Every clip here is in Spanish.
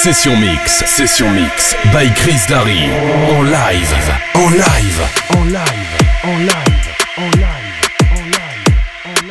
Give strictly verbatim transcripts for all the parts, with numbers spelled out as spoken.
Session Mix, Session Mix, by Chris Darry. En live, en live, en live, en live, en live, en live, en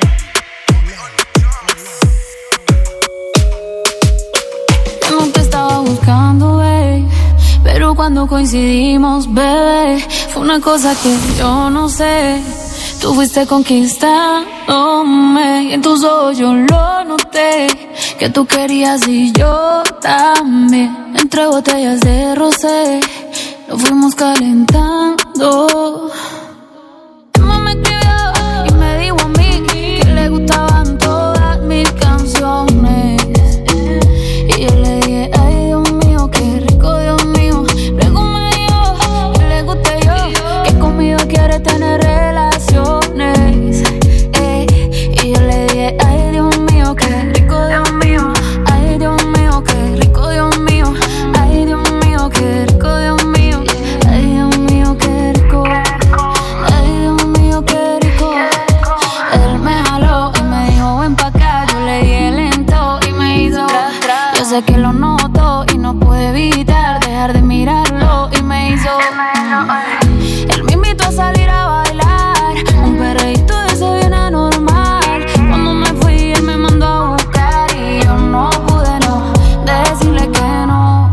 live. Yo no te estaba buscando, babe, pero cuando coincidimos, bebé, fue una cosa que yo no sé. Tú fuiste conquistándome y en tus ojos yo lo noté, que tú querías y yo también. Entre botellas de rosé nos fuimos calentando. Emma me escribió y me dijo a mí que le gustaban todas mis canciones. Y yo le dije, ay Dios mío, qué rico, Dios mío. Luego me dijo que le gusté yo, que conmigo quiere tener relaciones. Ey, y yo le dije, ay Dios mío, qué rico, Dios mío. Ay Dios mío, qué rico, Dios mío. Ay Dios mío, qué rico, Dios mío. Ay Dios mío, qué rico. Ay Dios mío, qué rico. Él me jaló y me dijo, ven pa' acá. Yo le dije lento y me hizo. Yo sé que lo noto y no pude evitar dejar de mirarlo y me hizo. Él me invitó a salir a bailar, un perreíto de ese bien anormal. Cuando me fui él me mandó a buscar y yo no pude no decirle que no.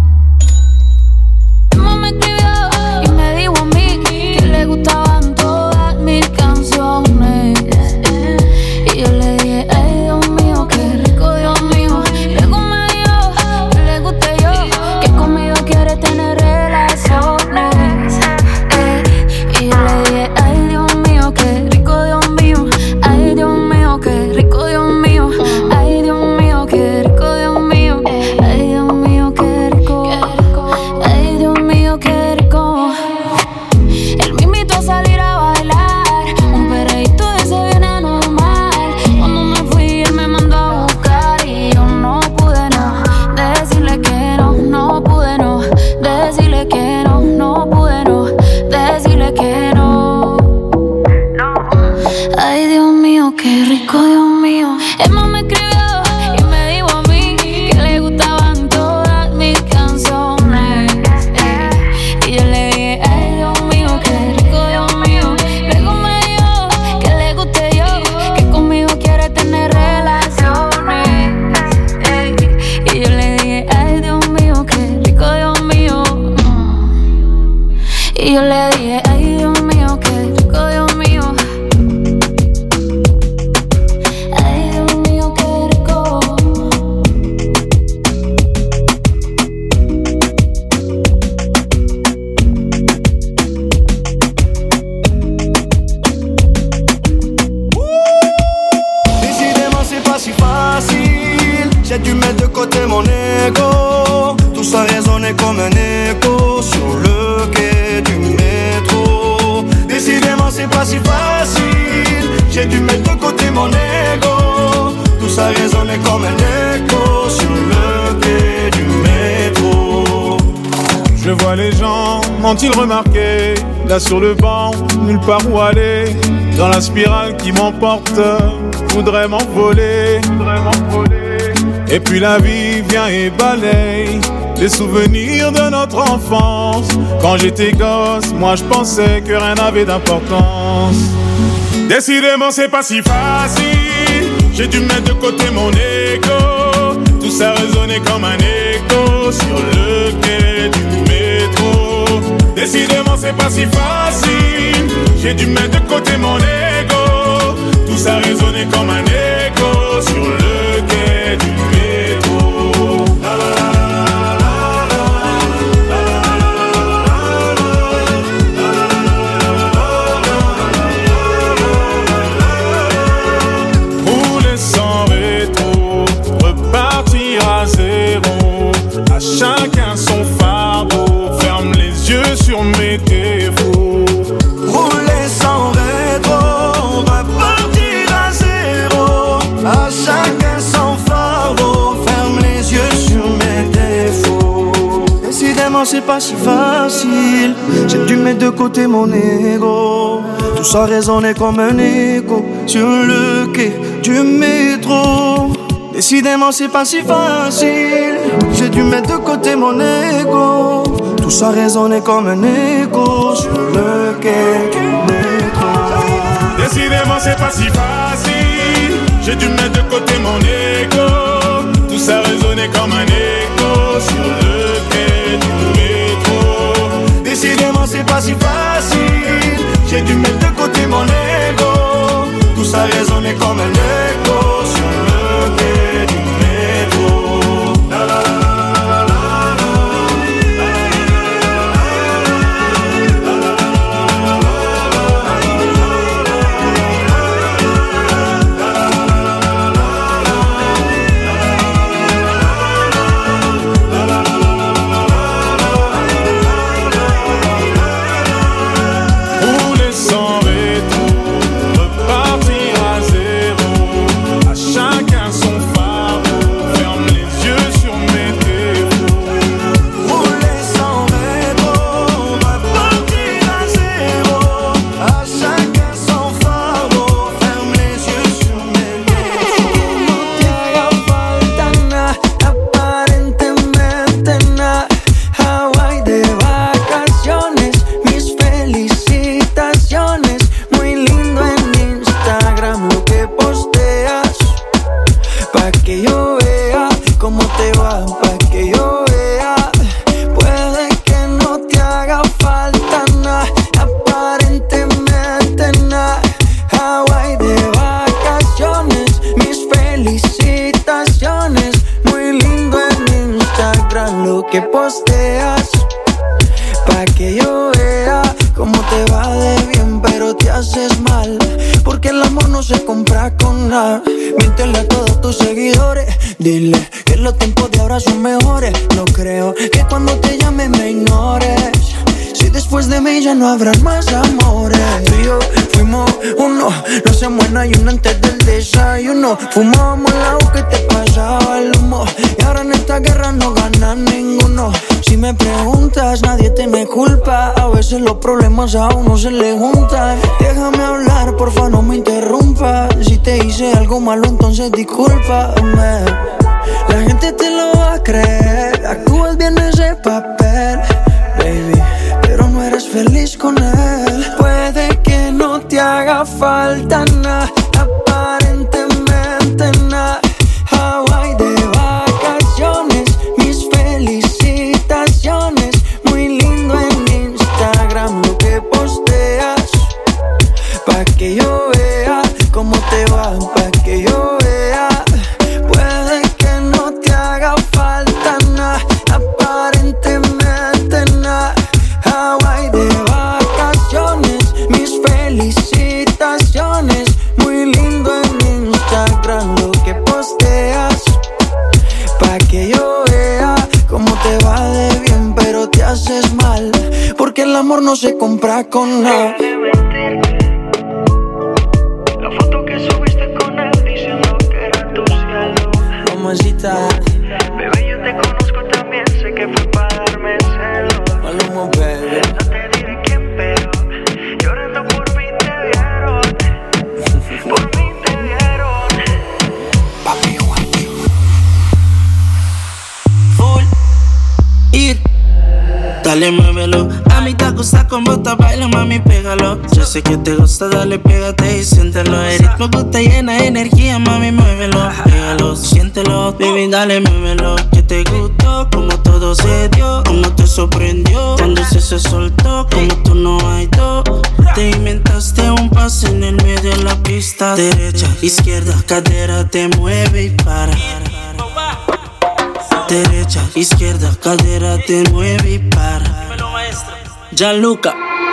Emma me escribió y me dijo a mí que le gustaban todas mis canciones. Y yo le dije, ay Dios mío, qué rico, Dios mío. Luego me dijo que le gusté yo, que conmigo quiere tener relaciones. Ey, y yo le dije, ay Dios mío, qué rico, Dios mío. Ay Dios mío, qué rico, Dios mío. Ay Dios mío, qué rico, Dios mío. Ay Dios mío, qué rico. Ay Dios mío, qué rico. Él me invitó a salir a bailar, un perreíto de ese bien anormal. Cuando me fui él me mandó a buscar y yo no pude no decirle que no, no pude no decirle que no, no pude no decirle que no. Ay Dios mío, qué rico, Dios mío. Emma me escribió y me dijo a mí que le gustaban todas mis canciones. Eh, Y yo le dije, ay Dios mío, qué rico, Dios mío. Luego me dijo que le gusté yo, que conmigo quiere tener relaciones. Eh, Y yo le dije, ay Dios mío, qué rico, Dios mío. Y yo le dije, ay Dios mío, qué rico, Dios mío. Ay Dios mío, qué rico. Décidément c'est pas si facile. J'ai dû mettre de côté mon ego. Tout ça résonnait comme un écho sur le quai du métro. Décidément c'est pas si facile. J'ai dû mettre de côté mon ego. Tout ça résonnait comme un écho sur le quai du métro. Je vois les gens, m'ont-ils remarqué? Là sur le banc, nulle part où aller. Dans la spirale qui m'emporte, voudrais m'envoler. Et puis la vie vient et balaye les souvenirs de notre enfance. Quand j'étais gosse, moi je pensais que rien n'avait d'importance. Décidément c'est pas si facile. J'ai dû mettre de côté mon ego. Tout ça résonnait comme un écho sur le quai du métro. Décidément c'est pas si facile. J'ai dû mettre de côté mon ego. Tout ça résonnait comme un écho sur le quai du métro. La, la, la. À chacun son fardeau, ferme les yeux sur mes défauts. Rouler sans rétro, repartir à zéro. À chacun son fardeau, ferme les yeux sur mes défauts. Décidément c'est pas si facile. J'ai dû mettre de côté mon ego. Tout ça résonnait comme un écho sur le quai du métro. Décidément c'est pas si facile. J'ai dû mettre de côté mon ego. Tout ça résonnait comme un écho sur le quai du métro. Décidément c'est pas si facile. J'ai dû mettre de côté mon ego. Tout ça résonnait comme un écho sur le quai du métro. Décidément c'est pas si facile. J'ai dû mettre de côté mon ego. Tout ça résonnait comme un écho sur le quai du métro. La, la, la. Miéntele a todos tus seguidores. Dile que los tiempos de ahora son mejores. No creo que cuando te llame me ignores. Si después de mí ya no habrán más amores. Tú y yo fuimos uno, no se muera y uno antes del desayuno. Fumábamos el agua que te pasaba el humo. Y ahora en esta guerra no gana ninguno. Si me preguntas, nadie tiene culpa. A veces los problemas a uno se le juntan. Déjame hablar, porfa, no me interrumpas. Si te hice algo malo, entonces discúlpame. La gente te lo va a creer. Actúas bien ese papel, baby, pero no eres feliz con él. Puede que no te haga falta nada, aparentemente nada. Hawaii de vacaciones, mis felicitaciones. Muy lindo en Instagram lo que posteas. Pa' que yo vea cómo te va, pa' que yo vea. Puede que no te haga falta nada, aparentemente nada. Hawaii de vacaciones, mis felicitaciones. Muy lindo en Instagram lo que posteas. Pa' que yo vea cómo te va de bien, pero te haces mal. Porque el amor no se compra con nada. La foto que subiste con él diciendo que era tu cielo. Mamacita, Bebé, yo te conozco también, sé que fue para darme celos. Maluma, baby. No te diré quién, pero llorando por mí te vieron. Por mí te vieron. Papi, guapi. Full ir. Dale, muévelo. A mí te gusta con bota, baila, mami, pégalo. Yo sé que te gusta, dale, pégate y siéntelo. El ritmo que te llena de energía, mami, muévelo. Pégalo, siéntelo, baby, dale, muévelo. Que te gustó, como todo se dio, como te sorprendió. Cuando se se soltó, como tú no hay dos. Te inventaste un pase en el medio de la pista. Derecha, izquierda, cadera te mueve y para. Derecha, izquierda, cadera te mueve y para. Gianluca.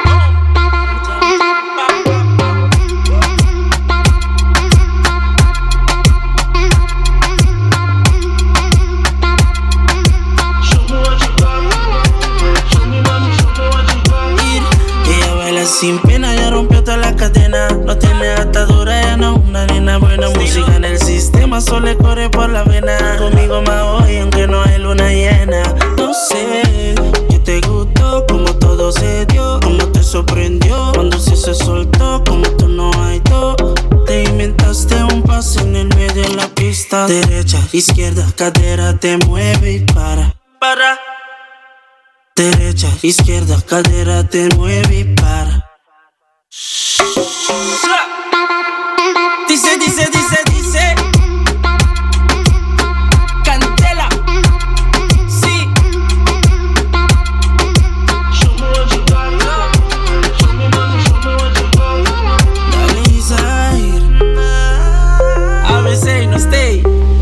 Ella baila sin pena, ya rompió toda la cadena. No tiene atadura, ya no una nena buena. Música en el sistema, solo le corre por la vena. Conmigo más hoy, aunque no hay luna llena. No sé, que te gustó, como todo se dio, como te sorprendió. Cuando sí se soltó, como tú no hay dos. Te inventaste un pase en el medio de la pista. Derecha, izquierda, cadera te mueve y para. Para. Derecha, izquierda, cadera te mueve y para. Dice, dice, dice, dice. Cantela. Sí. Dale, Zaire. A veces no stay.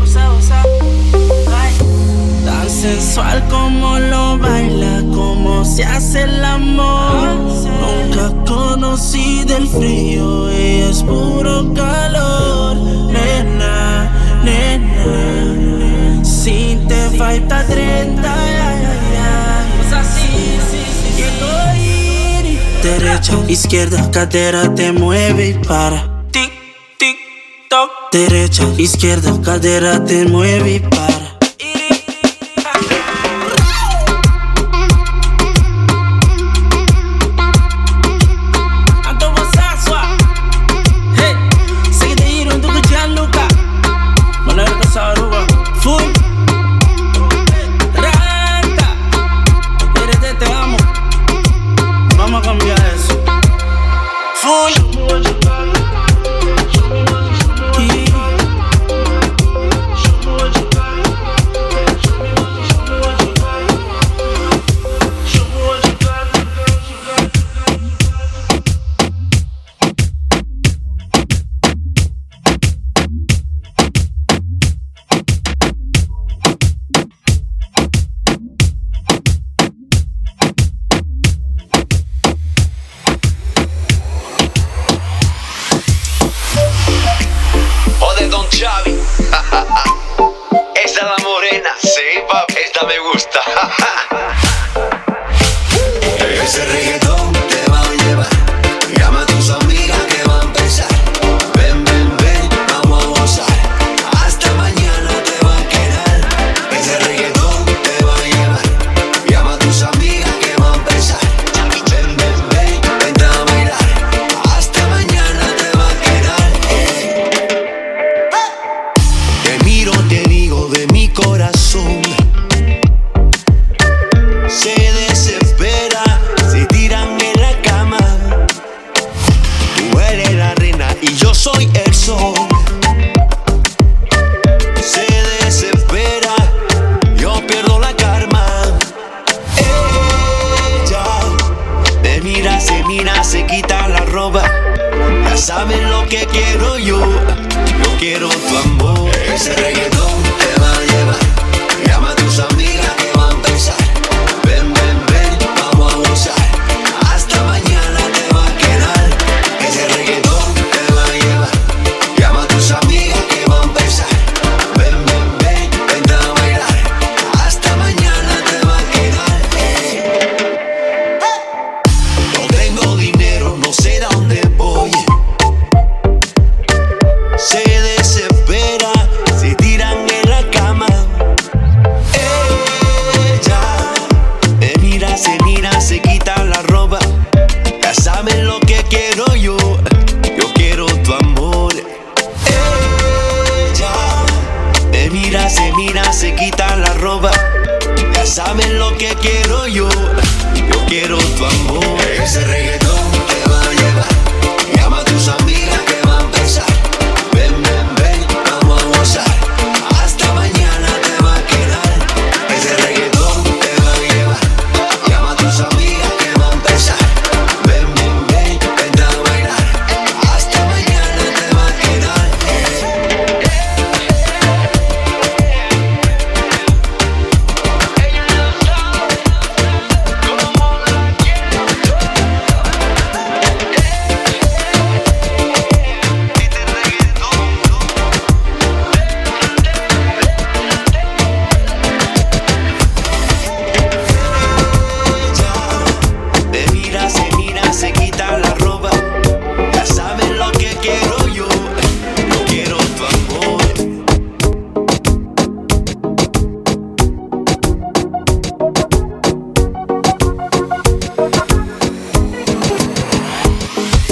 Tan sensual como lo baila, como se hace el amor. Nunca conocí del frío, ella es puro calor. Nena, nena, si te falta treinta, quiero ir. Derecha, izquierda, cadera te mueve y para. Tic, tic, toc. Derecha, izquierda, cadera te mueve y para.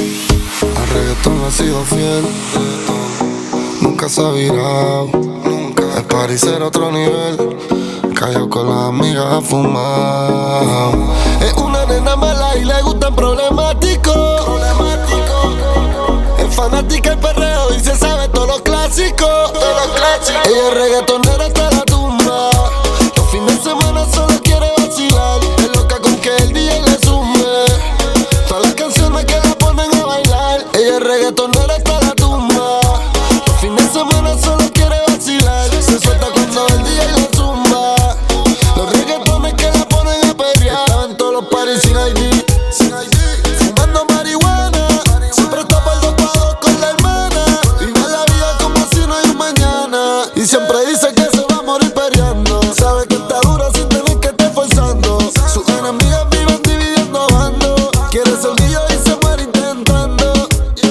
Nunca se ha virado, nunca. El party será otro nivel. Callao con las amigas a fumar. Es una nena mala y le gustan problemáticos. Problemático. Es fanática del perreo y se sabe todos los clásicos. Todos los clásicos. Ella es reggaetonera hasta la tumba. Los fines de semana solo quiere vacilar. Es loca con que el D J le sume todas las canciones que la ponen a bailar. Ella es reggaetonera hasta la tumba. Los fines de semana solo quiere vacilar. Se suelta cuando el D J le zumba. Los reggaetones que la ponen a perrear. Estaba en todos los parties sin I D, sin I D, fumando marihuana. Siempre está por dos pados con la hermana. Vive la vida como si no hay un mañana. Y siempre dice que se va a morir perreando. Sabe que está dura sin tener que estar forzando. Sus enemigas viven dividiendo bandos. Quiere ser mío y se muere intentando.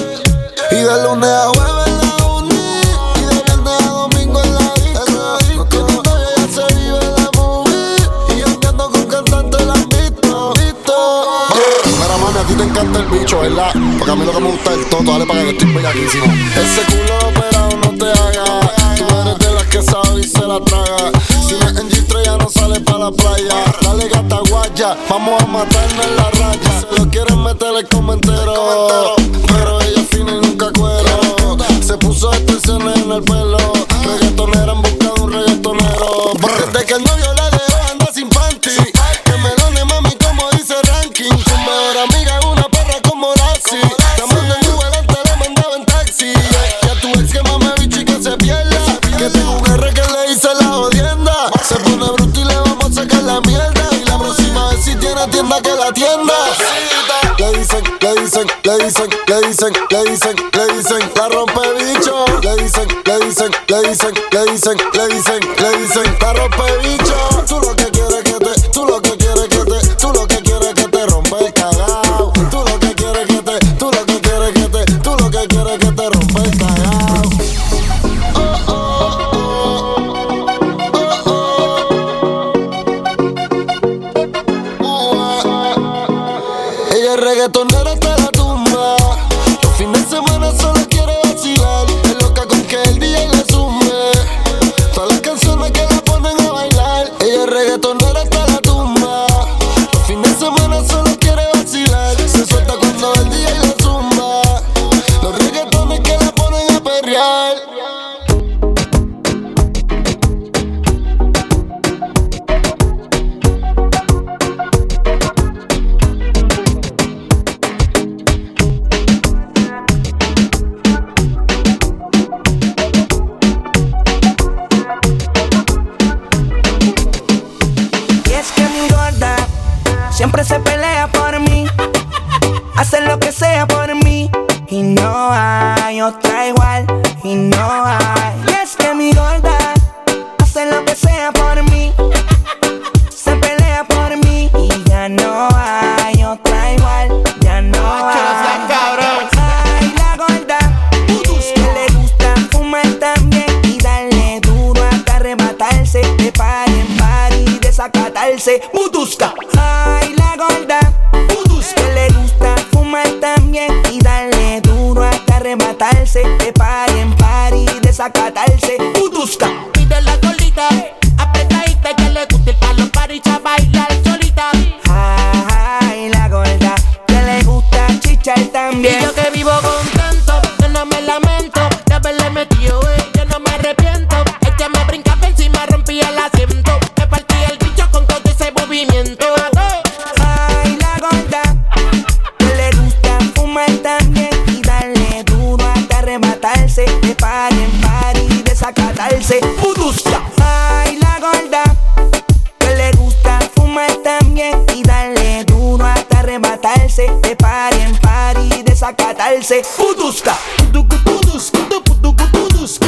Y de lunes a jueves en la uni, y de viernes a domingo en la disco. Teniendo ya se vive la movie. Y andando con cantantes la han visto, visto. Mira mami, a ti te encanta el bicho, ¿verdad? Porque a mí lo que me gusta es el toto, dale para que estoy bellaquísimo. Ese culo operado no te haga. Tú eres de las que sabe y se la traga. Si no es en G tres ya no sale para la playa. Dale gata guaya, vamos a matarnos en la raya. Se lo quieren meter el comentero, pero ella fina y nunca cuero. Se puso extensiones en el pelo. Reggaetonera en busca de un reggaetonero. Desde que el novio la dejó anda sin panty. Que me done mami como dice ranking. Tu mejor amiga es una perra como Lassie. Llamando en Uber antes la mandaba en taxi. Y a tu ex que mame bicho y que se pierda. Que tengo un R que le hice la jodienda. Se pone bruto y le vamos a sacar la mierda. Y la próxima vez si tiene tienda que la tienda. Le dicen, le dicen, le dicen, le dicen, le dicen, le dicen, la rompe bicho. Le dicen, le dicen, le dicen, le dicen, le dicen, le dicen, la rompe bicho. Tú lo que quieres que te, tú lo que quieres que te, tú lo que quieres que te rompe el cagao. Tú lo que quieres que te, tú lo que quieres que te, tú lo que quieres que te rompe el cagao. Oh, oh, oh, oh, oh. Ella es reggaetonera hasta la tumba. Los fines de semana solo quiere vacilar. Es loca con que el D J le sume todas las canciones que la ponen a bailar. Ella es reggaetonera hasta la tumba. Los fines de semana solo quiere vacilar. Se suelta cuando el D J le zumba. Los reggaetones que la ponen a perrear. Siempre se pelea por mí, hace lo que sea por mí. Y no hay otra igual, y no hay. Y es que mi gorda hace lo que sea por mí, se pelea por mí. Y ya no hay otra igual, ya no hay. Ay, la gorda, que le gusta fumar también y darle duro hasta arrebatarse. De party en party, desacatarse. Butusca. Ay, la gorda, que le gusta fumar también y darle duro hasta arrebatarse. De party en party, desacatarse. Butusca. Pide la solita, apretadita, que le gusta ir pa' los parties a bailar solita. Ay, la gorda, que le gusta chichar también. Y yo que vivo contento, que no me lamento de haberle metido, eh, yo no me arrepiento. Ella me brincaba encima, rompía el asiento. Me partía el bicho con todo ese movimiento. Ay, la gorda, que le gusta fumar también y darle duro hasta arrebatarse. De party en party, desacatarse. Butusca. Ay, la gorda, que le gusta fumar también y darle duro hasta arrebatarse. De party en party, desacatarse. Butusca. Butusca. Butusca.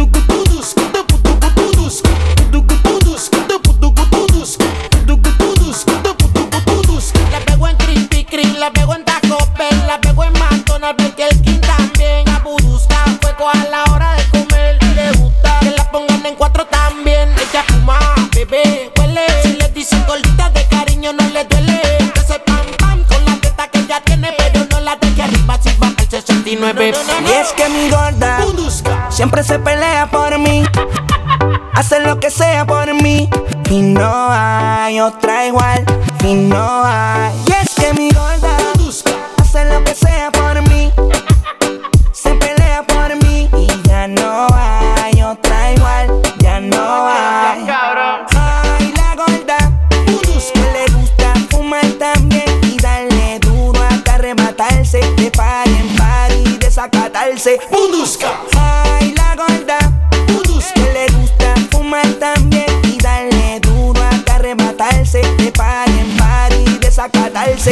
La pego en Krispy Kreme, la pego en Taco Bell, la pego en McDonald's, Burger King también. A Budusca fue a la hora de comer. Le gusta que la pongan en cuatro también. Ella fuma, bebé, huele. Si le dicen gorditas de cariño no le duele. Ese pam pam con la teta que ella tiene, pero no la de aquí arriba si baja el sesenta y nueve. Y es que mi gorda siempre se pelea por mí, hace lo que sea por mí. Y no hay otra igual, y no hay. Y es que mi gorda hace lo que sea por mí, se pelea por mí. Y ya no hay otra igual, ya no hay. Ay, la gorda, que le gusta fumar también y darle duro hasta arrebatarse, de par en par y desacatarse. Ay, la gorda, que le gusta fumar también y darle duro hasta arrebatarse, de par en par y desacatarse.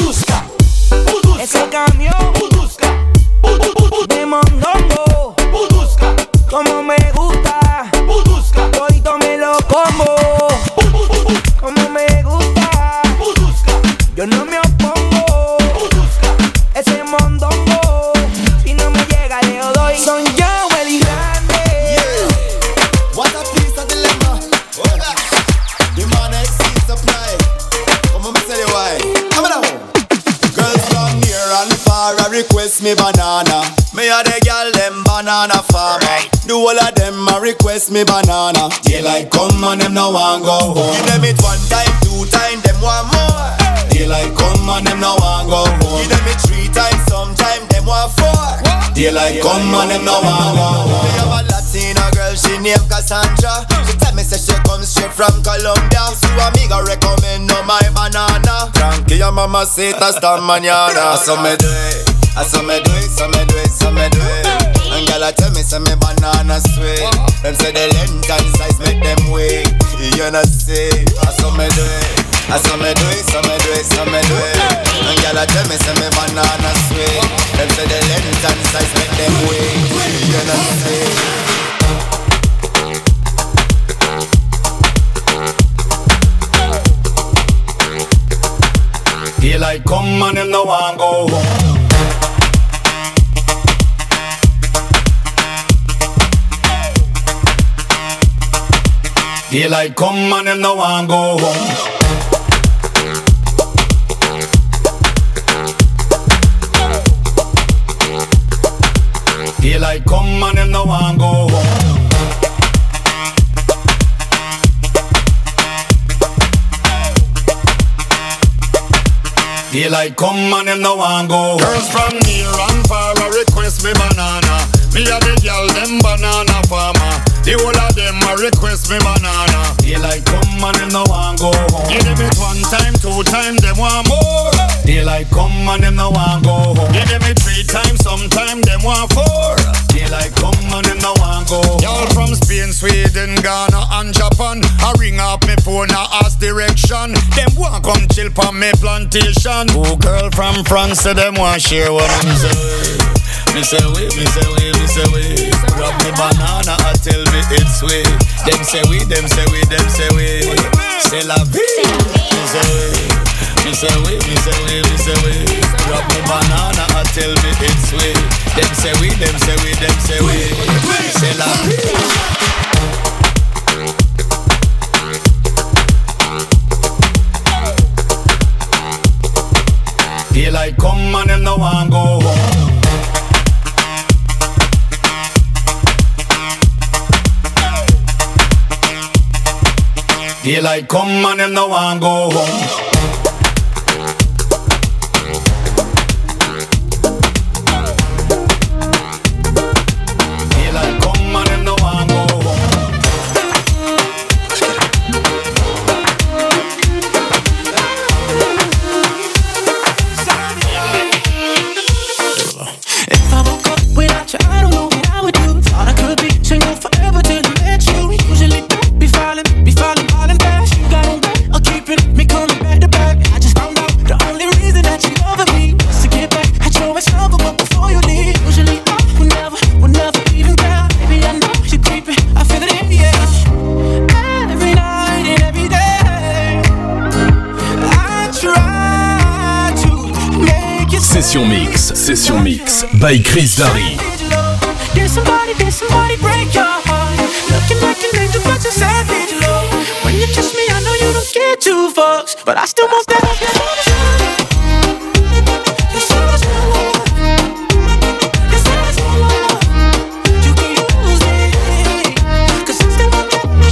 Ese camión de mondongo, como me gusta, todito me lo como, como me gusta, yo no me opongo. Ese mondongo, si no me llega le doy. Son yo el grande. Yeah, what a piece of dilemma. The man exceeds supply. Come on, me tell you why. Come on. Girls from near and far a request me banana. Me a the girl them banana farmer. The whole of them a request me banana. Daylight come and them no want go home. Give them it one time, two time, them want more. Daylight come and them no want go home. Give them it three times, sometime them want four. Daylight come and them no want go home. Me have a Latina girl, she named Cassandra. She tell me say she comes straight from Colombia. So amiga recommend no my banana. Tranquila mamacita esta mañana. So me do it, so me do it, so me do it, so me do it. And girl tell me say me banana sweet. Them say the length and size make them weak. You know see, so me do it. I saw me do it, so me do it, so me do it. And girl tell me say me banana sweet. Them say the length and size make them weak. You know see. Daylight come and them no want go home. Daylight come and them no want go home. Daylight come and them no want go home. Daylight come and them no want go home. Girls from near and far a request me banana. Me a the girl them banana farmer. The whole of them a request me banana. Daylight come and them no want go home. Give them it one time, two time, them want more. Daylight come and them no want go home. Give them it three times, sometime them want four. Daylight come and them no want go home. Y'all from Spain, Sweden, Ghana and Japan. I ring up me phone, I ask direction. Them want come chill pa me plantation. Oh girl from France, say them want share what I'm saying. Me say we, me say we, me say we. Grab me banana, I tell me it's sweet. Them say we, them say we, them say we. C'est la vie. Me say we, me say we, me say we, me say we. Grab me banana, I tell me it's sweet. Them say we, them say we, them say we. C'est la vie. Daylight come and them no want go home. Daylight come and them no want go home. Daylight come and them no want go home. If I woke up without you, I don't know what I would do. Thought I could be single forever till I met you. Usually don't be falling, be falling, falling fast. You got on back, or keeping me coming back to back. I just found out the only reason that you loving me was to get back at your ex-lover, but before you leave, usually I would never, would never even care. Baby, I know you creeping, I feel it in the air. Every night and every day, I try to make you. Session Mix, Session Mix by Chris Darry. Did somebody, did somebody break your heart? Looking like an angel, but you're savage, love. When you kiss me, I know you don't get two fucks, but I still want that. You say it's my love. You say it's my love. You can use me, 'cause I still want that.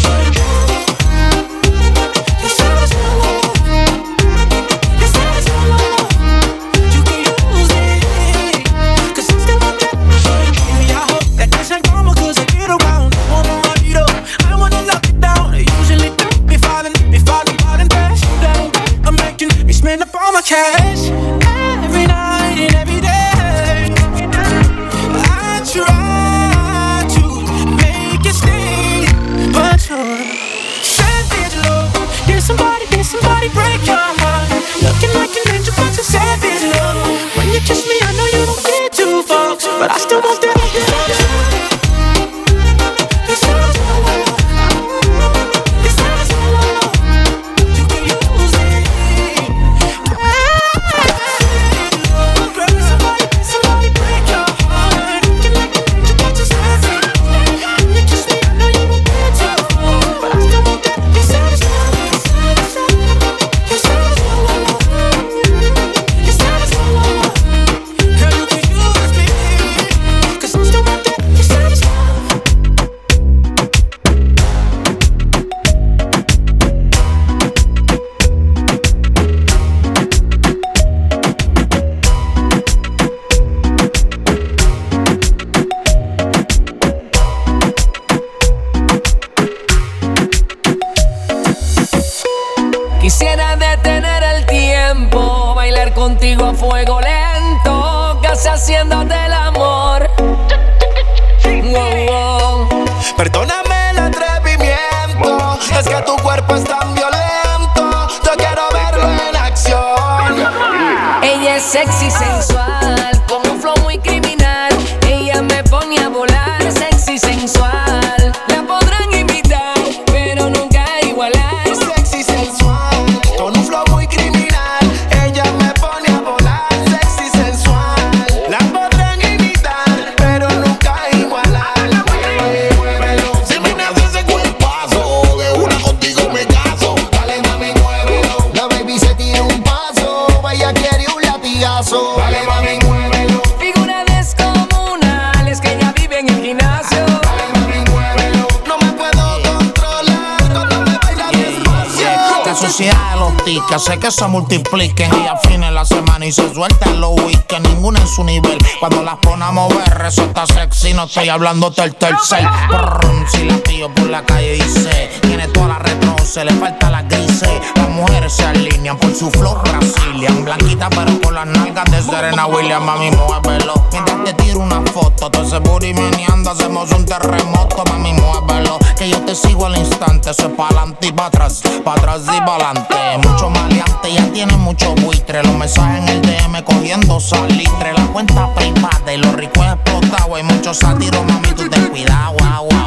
fuego lento, casi haciéndote el amor. Wow, wow. Perdóname el atrevimiento, es que tu cuerpo es tan violento. Yo quiero verlo en acción. Ella es sexy, sensual, con un flow muy criminal. Ella me pone a volar, sexy, sensual. La podrán imitar, pero nunca igualar. Sexy, sensual, con un flow muy criminal. Ella me pone a volar, sexy, sensual. La podrán imitar, pero nunca igualar. Muévelo, si me haces ese cuerpazo, de una contigo me caso. Dale mami, muévelo. La baby se tira un paso, vaya quiere un latigazo. Dale mami, muévelo. Figura descomunal, es que ella vive en el gimnasio. Dale mami, muévelo. No me puedo controlar cuando me baila despacio. La sociedad de los tickets hace que se multipliquen y afine la semana y se sueltan los weekends. Ninguna en su nivel. Cuando las pone a mover, resulta sexy. No estoy hablando del tercer. Brrr, si la pillo por la calle dice, tiene toda la retro, se le falta la grises. Las mujeres se alinean por su flow Brazilian. Blanquita pero con las nalgas de Serena Williams. Mami, muévelo. Mientras te tiro una foto, todo ese booty meneando, hacemos un terremoto. Mami, muévelo. Que yo te sigo al instante. Eso es pa' adelante y pa' atrás, pa' atrás y pa' adelante. Mucho maleante, ya tiene mucho buitre. Los mensajes en el D M cogiendo salitre. La cuenta privada y los ricos explotados. Hay muchos sátiros, mami, tú ten cuidado, wow, wow.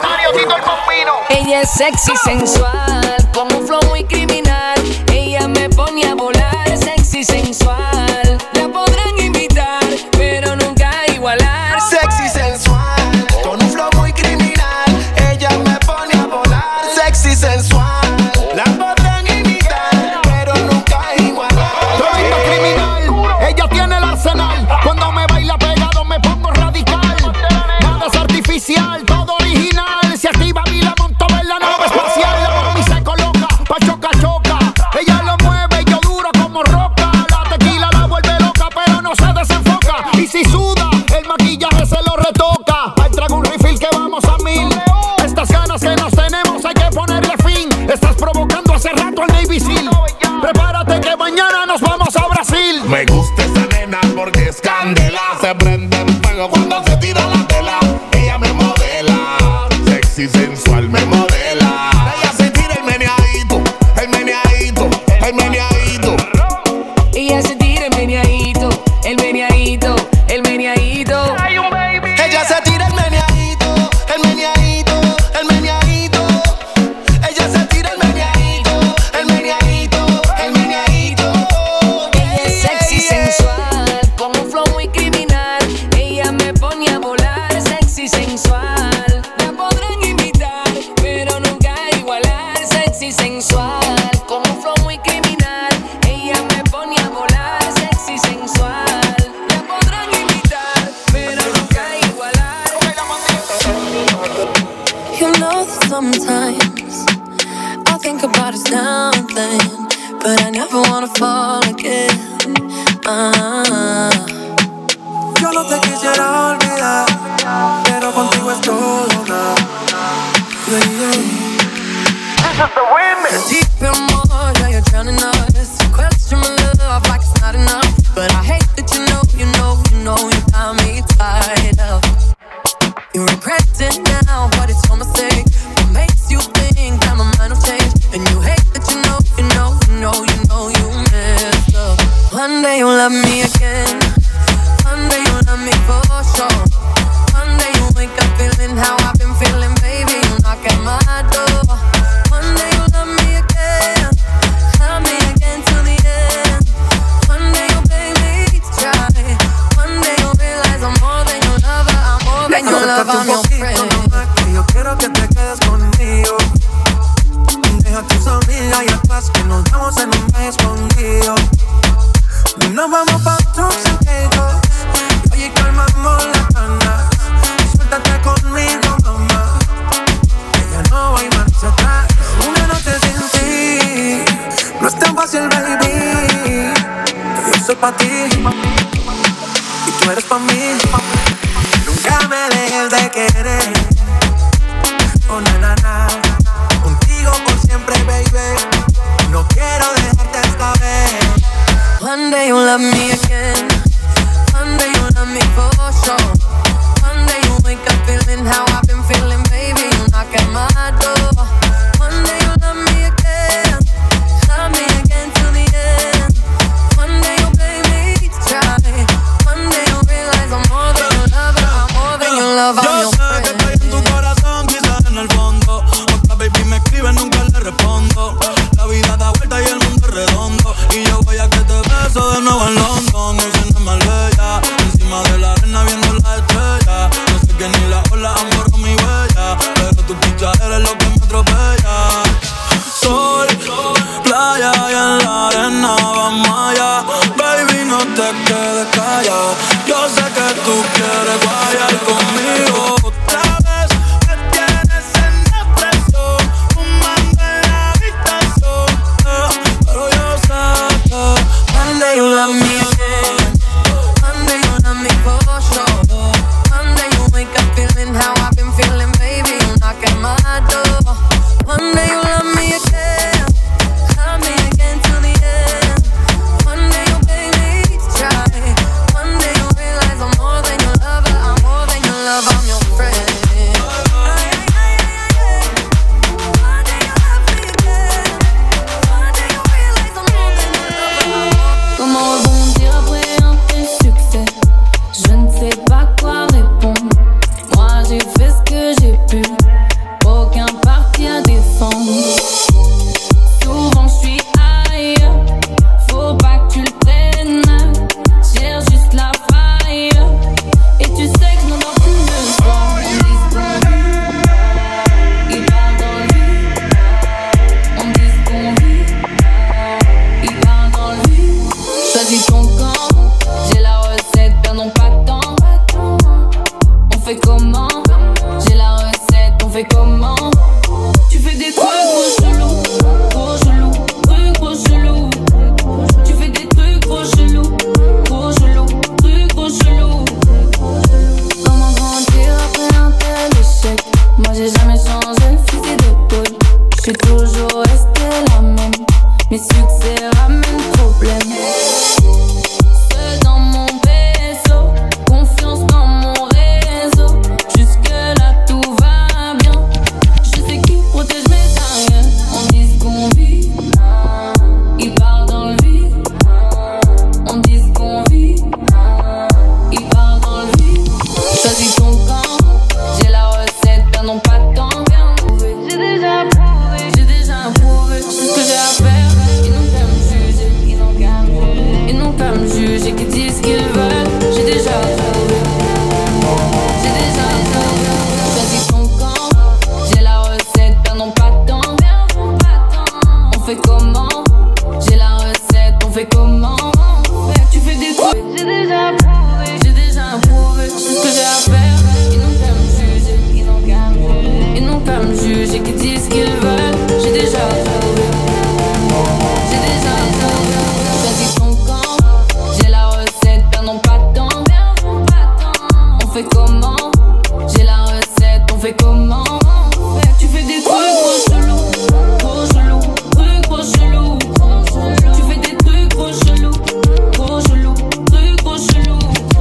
Ella es sexy, sensual, con un flow muy criminal. Ella me pone a volar, sexy, sensual. La podrán imitar, pero nunca igualar. Sexy, sensual, con un flow muy criminal. Ella me pone a volar, sexy, sensual. La podrán imitar, pero nunca igualar. Todito criminal, ella tiene el arsenal. Cuando me baila pegado me pongo radical. Nada es artificial, todo original. Se activa y la monto en la nave espacial. La mami se coloca, pa' choca, choca. Ella lo mueve y yo duro como roca. La tequila la vuelve loca, pero no se desenfoca. Y si suda, el maquillaje se lo retoca. Ahí traigo un refill que vamos a mil. Estas ganas que nos tenemos hay que ponerle fin. Estás provocando hace rato al Navy Seal. Prepárate que mañana nos vamos a Brasil. Me gusta esa nena porque es candela. Se prende en fuego cuando se tira la tela. Ella me modela, sexy, sensual, me modela. Ella se tira el meneadito, el meneadito, el meneadito. Ella se tira el meneadito, el meneadito, el meneadito. Ella se tira el meneadito, el meneadito, el meneadito. Ella se tira el meneadito, el meneadito, el meneadito. Ella es sexy, sensual, con un flow muy criminal. Ella me pone a volar, sexy, sensual. La podrán imitar, pero nunca igualar. Sexy, sensual, con un flow muy criminal. Ella me pone a volar, sexy, sensual. La podrán imitar, pero nunca igualar. You know that sometimes I think about us something, but I never wanna fall again. Ah. Yo no te quisiera olvidar, pero contigo es todo una. Yeah, yeah. Deep in more, now you're drowning us. Question my love like it's not enough, but I hate that you know, you know, you know you got me tied up. You regret it now, but it's your mistake. What makes you think that my mind will change? And you hate that you know, you know, you know, you know you messed up. One day you'll love me again. One day you'll love me for sure. One day you'll wake up feeling how I've been feeling, baby. You knock at my door. One day you'll love me again. Love me again till the end. One day you'll pay me to try. One day you'll realize I'm more than your lover. I'm more than your lover, I'm your friend. Que yo quiero que te quedes conmigo. Deja tus amigas y atrás que nos vamos en un mes escondido. Nos vamos pa' Turks and Caicos. Oye, calmamos la cana. Suéltate conmigo, mamá. Que ya no hay marcha atrás. Una noche sin ti no es tan fácil, baby. Yo soy pa' ti y tú eres pa' mí. Nunca me dejes de querer. Oh, na, na, na. Contigo por siempre, baby. No quiero dejarte esta vez. One day you'll love me again. One day you'll love me for sure. One day you'll wake up feeling how I've been feeling, baby. You knock at my door. One day you'll love me again. Love me again till the end. One day you'll pay me to try. One day you'll realize I'm more than your lover. I'm more than your lover. I'm your friend. Yo sé que estoy en tu corazón, quizás en el fondo. Otra baby me escribe, nunca le respondo. La vida da vuelta y el mundo es redondo. Y yo voy a que te beso de nuevo en London. Diciendo más bella, encima de la arena viendo las estrellas. No sé que ni la ola han borrado mi huella, pero tu picha eres lo que me atropella. Sol, playa y en la arena vamos allá. Baby, no te quedes callada. Yo sé que tú quieres guayar conmigo. Otra vez me tienes en depresión, fumando en la habitación, eh, pero yo sé que one day you'll love me again. One day you'll love me for sure. One day you'll wake up feeling how I've been feeling, baby. You knock at my door. One day you'll love me again. Love me again till the end. One day you'll pay me to try. One day you'll realize I'm more than your lover. I'm more than your lover. I'm your friend. One day you'll love me again. One day you'll realize I'm more than your lover. Comment rebondir après un tel succès? Je ne sais pas quoi répondre. Moi j'ai fait ce que j'ai pu. Aucun parti à défendre. Souvent je suis ailleurs. Faut pas que tu le prennes mal. Cherche juste la faille. Et tu sais que je n'en dors plus le soir. On dit ce qu'on vit. Il part dans le vide. On dit ce qu'on vit. Il part dans le vide. Choisis ton camp. J'ai la recette, perdons pas de temps. On fait comment? J'ai la recette, on fait comment? Tu fais des trucs trop chelous, trop chelous, trucs trop chelous. Tu fais des trucs trop chelous, trop chelous, trucs trop chelous. Comment grandir après un tel échec? Moi j'ai jamais changé le fusil d'épaule. Je suis toujours restée la même. Mes succès ramènent problème. Seul dans mon vaisseau, confiance dans mon réseau. Jusque là tout va bien. Je sais qui protège mes arrières. On dit ce qu'on vit. Il part dans le vide. On dit ce qu'on vit. Il part dans le vide. Choisis ton camp. J'ai la recette, perdons pas de temps. J'ai déjà prouvé, j'ai déjà prouvé. Je sais ce que j'ai à faire. Ils n'ont qu'à me juger, ils n'ont qu'à me juger. Ils n'ont qu'à me juger, qu'ils disent ce qu'ils veulent. J'ai déjà prouvé. J'ai déjà prouvé. Choisis ton camp. J'ai la recette, perdons pas de temps. On fait comment? J'ai la recette, on fait comment? Tu fais des trucs. J'ai déjà prouvé, j'ai déjà prouvé. Je sais ce que j'ai à faire. Ils n'ont qu'à me juger, ils n'ont qu'à me juger. Ils n'ont qu'à me juger, qu'ils disent ce qu'ils veulent. J'ai déjà prouvé. J'ai déjà prouvé. Choisis ton camp. J'ai la recette, perdons pas de temps. On fait comment? J'ai la recette, on fait comment? Tu fais des trucs trop chelous, trop chelous, trucs trop chelous. Tu fais des trucs trop chelous, trop chelous, trucs trop chelous.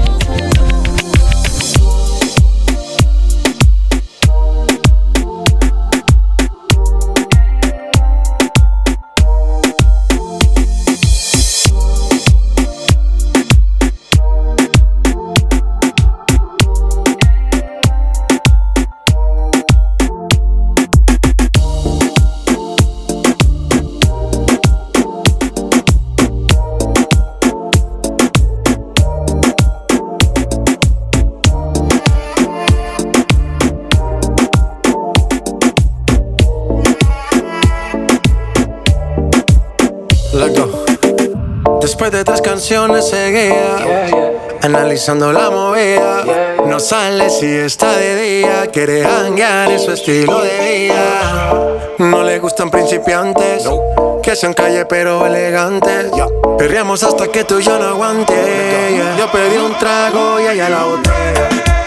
Loco. Después de tres canciones seguía, analizando la movida. No sale si está de día, quiere hanguear, es su estilo de vida. No le gustan principiantes, que sean calle pero elegantes. Perreamos hasta que tú y yo no aguante. Yo pedí un trago y ella la botella.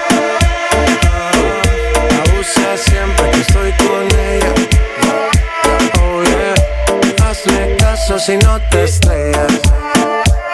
Abusa siempre que estoy con ella. Oh yeah, hazle caso si no te estrellas.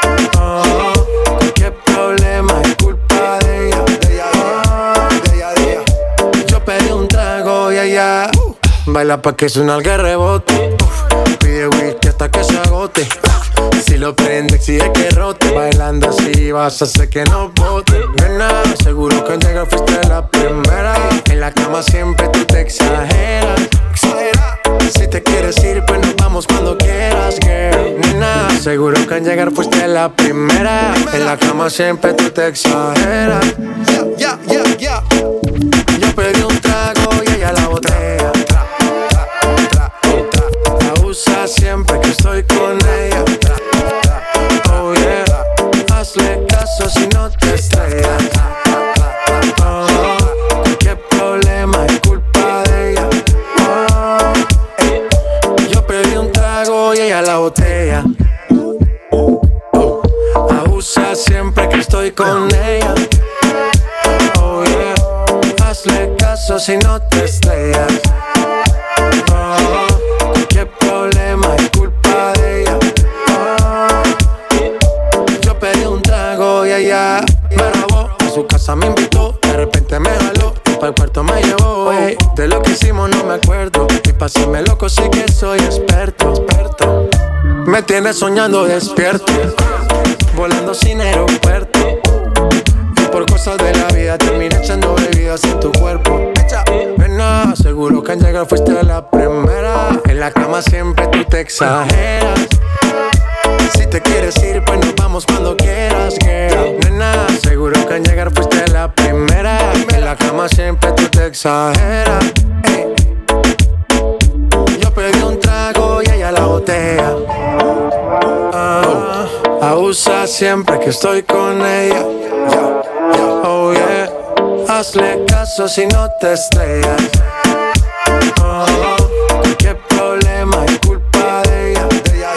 Oh, cualquier problema es culpa de ella. De ella, de ella, de ella. Yo pedí un trago y ella uh, baila pa' que suena el rebote. Uh, pide whisky hasta que se agote. Si lo prende, exige que rote. Bailando así vas a hacer que no bote. Nena, seguro que al llegar fuiste la primera. En la cama siempre tú te exageras. Exagera. Si te quieres ir, pues nos vamos cuando quieras, girl. Nena, seguro que al llegar fuiste la primera. En la cama siempre tú te exageras. Yeah, yeah, yeah, yeah. Yo pedí un trago y ella la botella. Tra, tra, tra, tra. La usa siempre que estoy con ella. Oh yeah, hazle caso si no te estrellas. Oh, qué problema es culpa de ella. Oh, eh. Yo pedí un trago y ella la botella. Oh, abusa siempre que estoy con ella. Oh yeah, hazle caso si no te estrellas. Oh, qué problema es culpa de ella. Y ella me grabó, a su casa me invitó. De repente me jaló, para el cuarto me llevó. Ey, de lo que hicimos no me acuerdo. Y pa' hacerme loco sí que soy experto, experto. Me tienes soñando despierto, volando sin aeropuerto. Y por cosas de la vida terminé echando bebidas en tu cuerpo. Nena, seguro que al llegar fuiste la primera. En la cama siempre tú te exageras. Si te quieres ir, pues nos vamos cuando quieras, girl. Nena, seguro que al llegar fuiste la primera. En la cama siempre tú te exageras. Ey. Yo pedí un trago y ella la botella. Ah, abusa siempre que estoy con ella. Oh yeah, hazle caso si no te estrellas. Oh, qué problema es culpa de ella.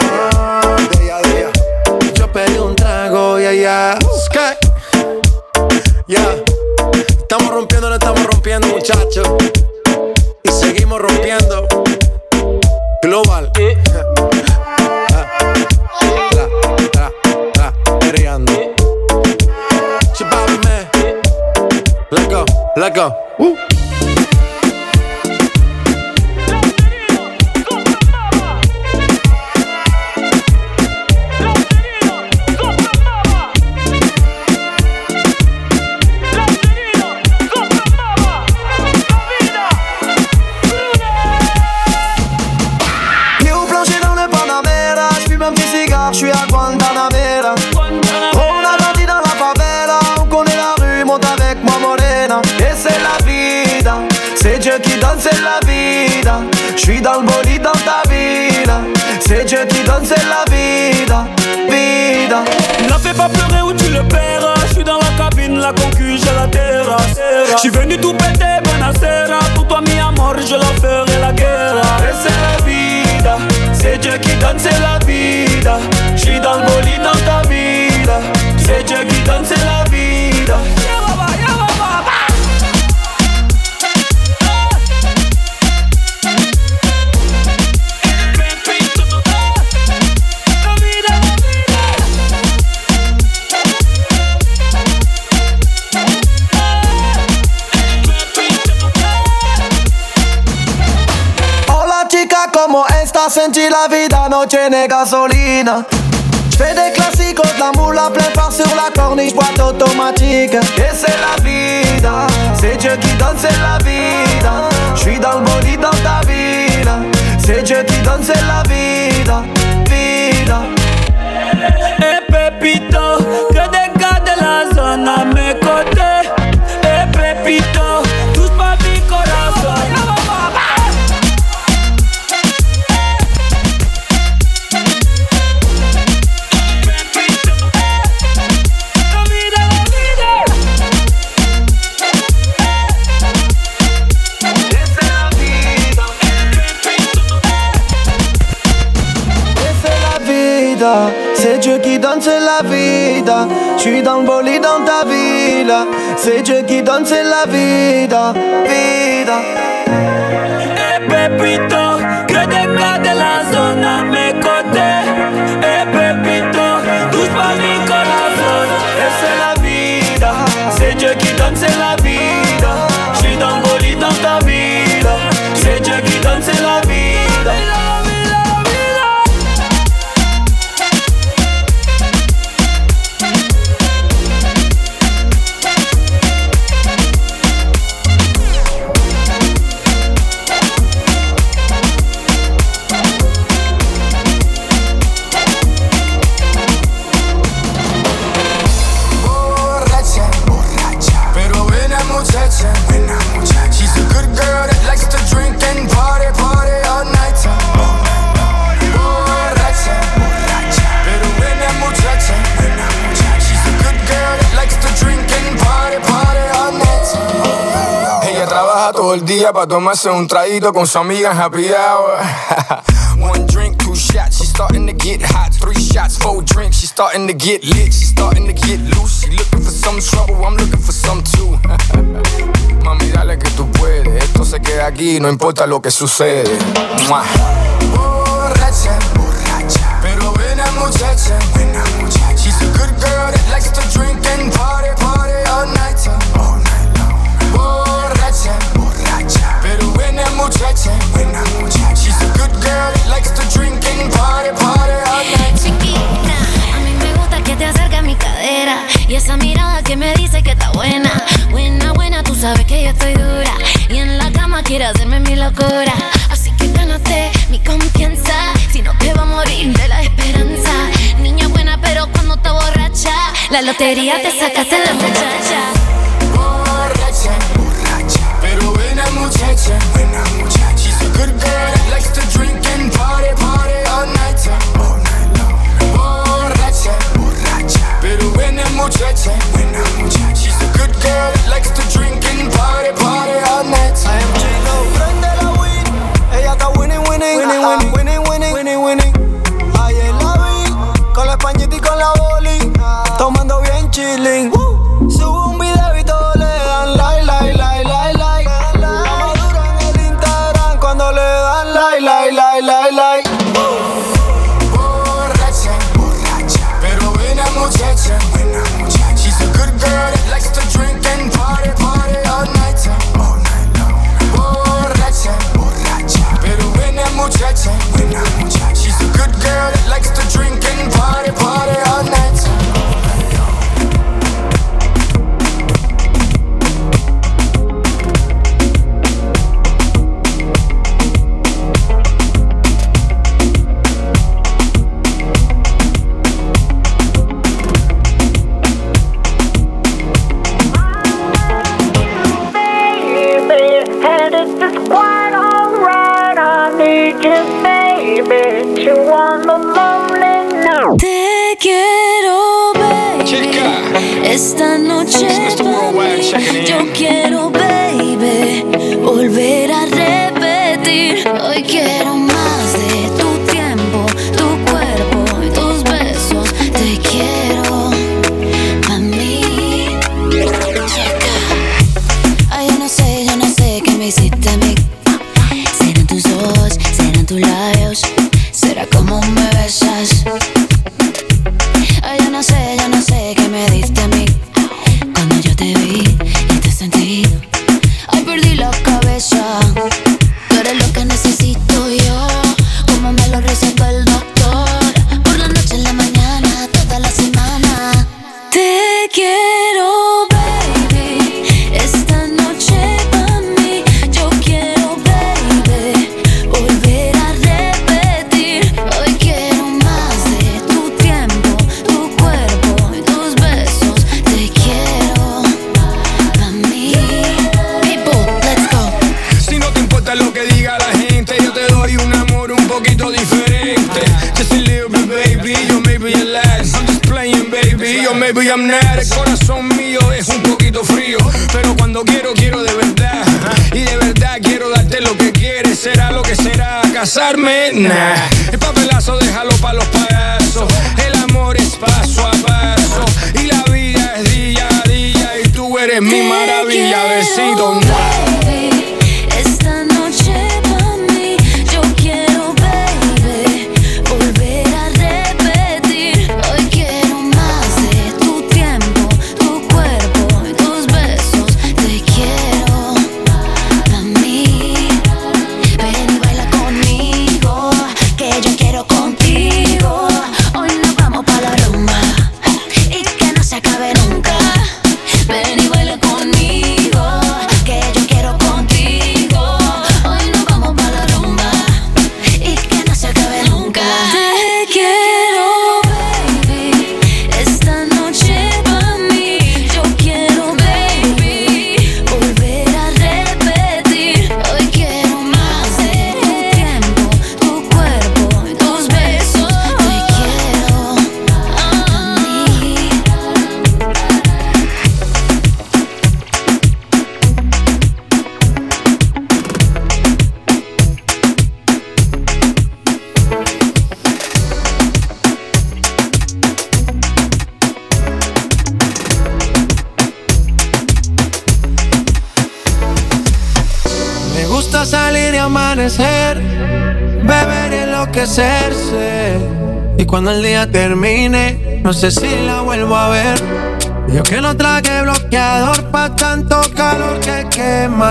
Pedí un trago, ya, yeah, ya. Sky. Ya. Yeah. Estamos rompiendo, no estamos rompiendo, muchachos. Y seguimos rompiendo. Global. Eh. ah. Tra, tra, tra, perreando. Chipame. Let's go, let's go. Woo. Je suis à Guantanamera. On a grandi dans la favela, on connaît la rue, monte avec moi morena. Et c'est la vida, c'est Dieu qui donne, c'est la vida. Je suis dans le bolide dans ta vida, c'est Dieu qui donne, c'est la vida, vida. Ne fais pas pleurer ou tu le paieras. Je suis dans la cabine, la concu, j'ai la terrasse. Je suis venu tout péter, Benacera. Pour toi mi amor, je leur ferai la guerre. Et c'est la vida, c'est Dieu qui donne, c'est la vida. J'suis dans le bolide dans ta vida. C'est Dieu qui donne, c'est la vida. Hola chica, como esta senti la vida no tiene gasolina. J'fais des classicos, de la moule à plein phare sur la corniche, boîte automatique. Et c'est la vida, c'est Dieu qui donne, c'est la vida. J'suis dans le bolide dans ta vida. C'est Dieu qui donne, c'est la vida, vida. Eh Pepito, que des gars de la zone à mes côtés. Eh Pepito, touche pas mi corazon. C'est Dieu qui donne, c'est la vida. J'suis dans le bolide dans ta villa. C'est Dieu qui donne, c'est la vida, vida. Eh Pepito, que des gars de la zone à mes côtés. Eh Pepito, touche pas mi corazon. trabaja todo el día para tomarse un traguito con su amiga en happy hour. One drink, two shots, she's starting to get hot. Three shots, four drinks, she's starting to get lit. She's starting to get loose. She looking for some trouble, I'm looking for some too. Mami, dale que tú puedes. Esto se queda aquí, no importa lo que sucede. Mua. Borracha, borracha, pero buena muchacha, buena muchacha. She's a good girl that likes to drink and party, party all night, all night long. Borracha, borracha, pero buena muchacha, buena muchacha. She's a good girl that likes to drink and party, party all night. Chiquita, a mí me gusta que te acerque a mi cadera y esa mirada que me dice que está buena, buena, buena. Tú sabes que yo estoy dura y en la cama quiere hacerme mi locura. Así que gánate mi confianza, si no te va a morir de la esperanza. Niña buena pero cuando está borracha, la lotería te sacaste la muchacha. Borracha, borracha, pero buena muchacha, buena muchacha. She's a good girl that likes to drink and party, party all night, all night long. Borracha, borracha, pero buena muchacha, buena muchacha. She's a good girl that likes to drink and party, party all night. I am J-Lo, prende la weed. Ella está winning, winning, winning, winning, winning, winning, winning, winning. Ayer la vi con la españita y con la boli, tomando bien chilling. Subo un video y todos le dan like, like, like, like, like. La madura en el Instagram cuando le dan like, like, like, like, like. Borracha, borracha, pero buena muchacha, buena muchacha. She's a good girl that likes to drink and party, party all night, all night long. Borracha, borracha, pero buena muchacha, buena muchacha. She's a good girl that likes to drink and party, party all night. Te quiero, baby. Esta noche pa' mí. Yo quiero, baby, volver a repetir. Hoy quiero más de tu tiempo, tu cuerpo y tus besos. Te quiero pa' mí. Ay, yo no sé, yo no sé qué me hiciste a mí. Serán tus ojos, serán tus labios, será como me besas. Ay, yo no sé, yo no sé qué me diste a mí cuando yo te vi y te sentí. Ay, perdí la cabeza. Tú eres lo que necesito yo, como me lo recetó el doctor. Por la noche, en la mañana, toda la semana. Te quiero, baby. Esta noche pa' mí. Yo quiero, baby, volver a repetir. Hoy quiero más de tu tiempo, tu cuerpo y tus besos. Te quiero pa' mí. People, let's go. Si no te importa lo que diga la gente, yo te doy un amor un poquito diferente. Just a little bit, baby, yo maybe you're last. I'm just playing, baby, yo maybe I'm not. El corazón mío es un poquito frío, pero cuando quiero, quiero de verdad. Y de verdad quiero darte lo que quieres. Será lo que será, casarme, nah. El papelazo déjalo pa' los payasos. El amor es paso a paso y la vida es día a día. Y tú eres mi maravilla, besito, nah. Baby, esta noche pa' mí. Yo quiero, baby, volver a repetir. Hoy quiero más de tu tiempo, tu cuerpo y tus besos. Te quiero pa' mí. Ven y baila conmigo, que yo quiero contigo. Hoy nos vamos pa' la rumba y que no se acabe nunca. Ven y baila conmigo, que yo quiero contigo. Hoy nos vamos pa' la rumba y que no se acabe nunca. Te quiero, baby. Esta noche pa' mí. Yo quiero, baby, volver a repetir. Hoy quiero más de tu tiempo, tu cuerpo y tus besos. Te quiero a mí. gusta salir y amanecer, beber y enloquecerse. Y cuando el día termine, no sé si la vuelvo a ver. Yo que no traje bloqueador pa' tanto calor que quema.